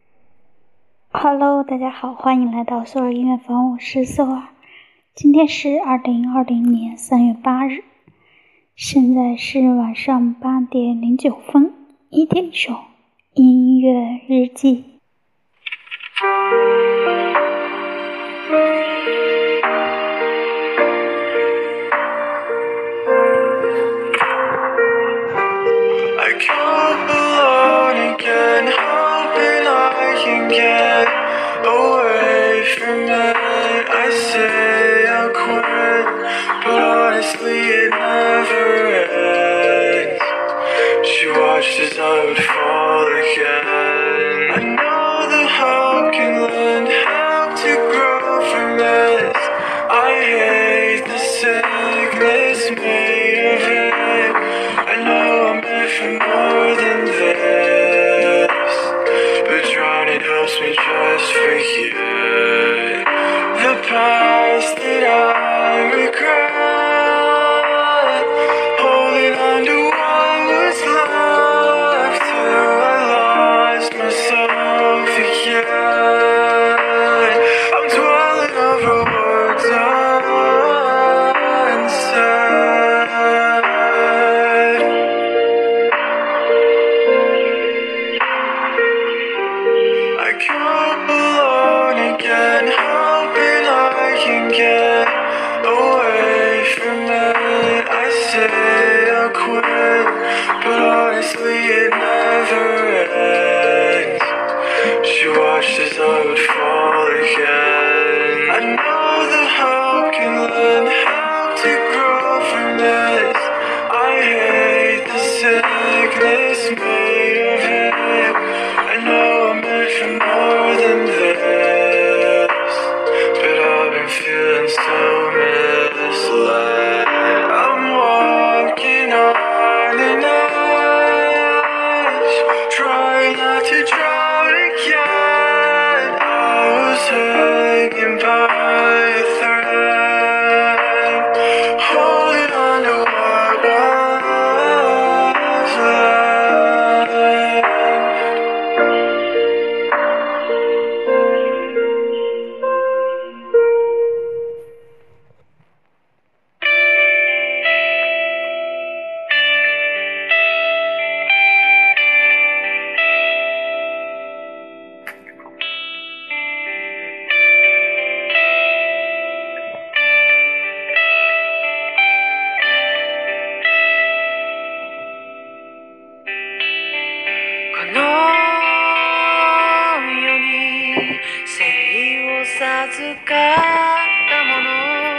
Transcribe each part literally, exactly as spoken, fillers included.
Hello， 大家好，欢迎来到索尔音乐房，我是索尔。今天是二零二零年三月八日，现在是晚上八点零九分，一点一首音乐日记。 I come alone again, hoping I can get away from it. I say I'll quit, but honestly it never ends. She watched as I would fall again. I know that help can lend help to grow from this. I hate the sickness made of it. I know I'm meant for more than this, but drowning helps me just forget the past that I regret. Holding on to what was left till I lost myself again. I'm dwelling over words unsaid. I come alone again, hoping I can get away from it. I say I'll quit, but honestly it never ends. She watched as I would fall again. I know that help can lend help to grow from this. I hate the sickness made of it. I know I'm meant for more than this, but I've been feeling so misled. I'm walking on an edge, trying not to drown again. I was hanging by a thread, holding on to what was left.授かったもの、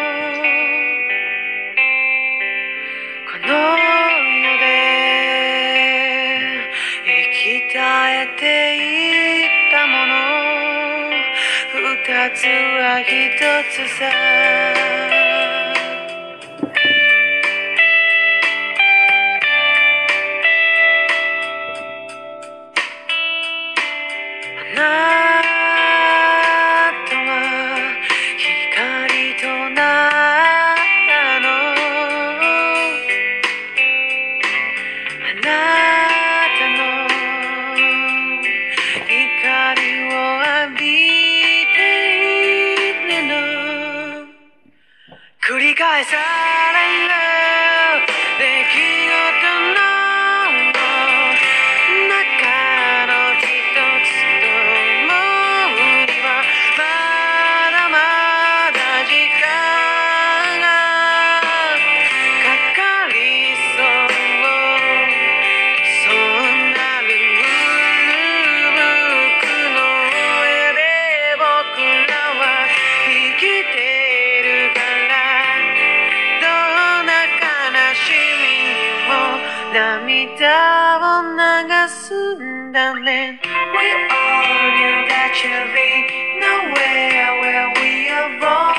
この世で生き絶えていったもの、二つは一つさ。あなたは光となったの、あなたの光を浴びているの、繰り返される出来事の涙を流すんだね。We all knew that you'd be nowhere where we are born.